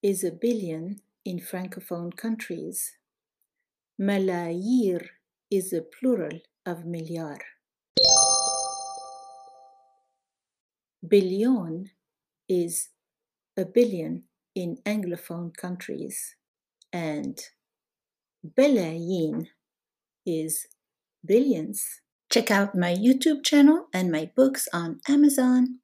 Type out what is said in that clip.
is a billion in Francophone countries. ملايير is a plural of مليار. Billion is a billion in Anglophone countries, and بلايين is billions. Check out my YouTube channel and my books on Amazon.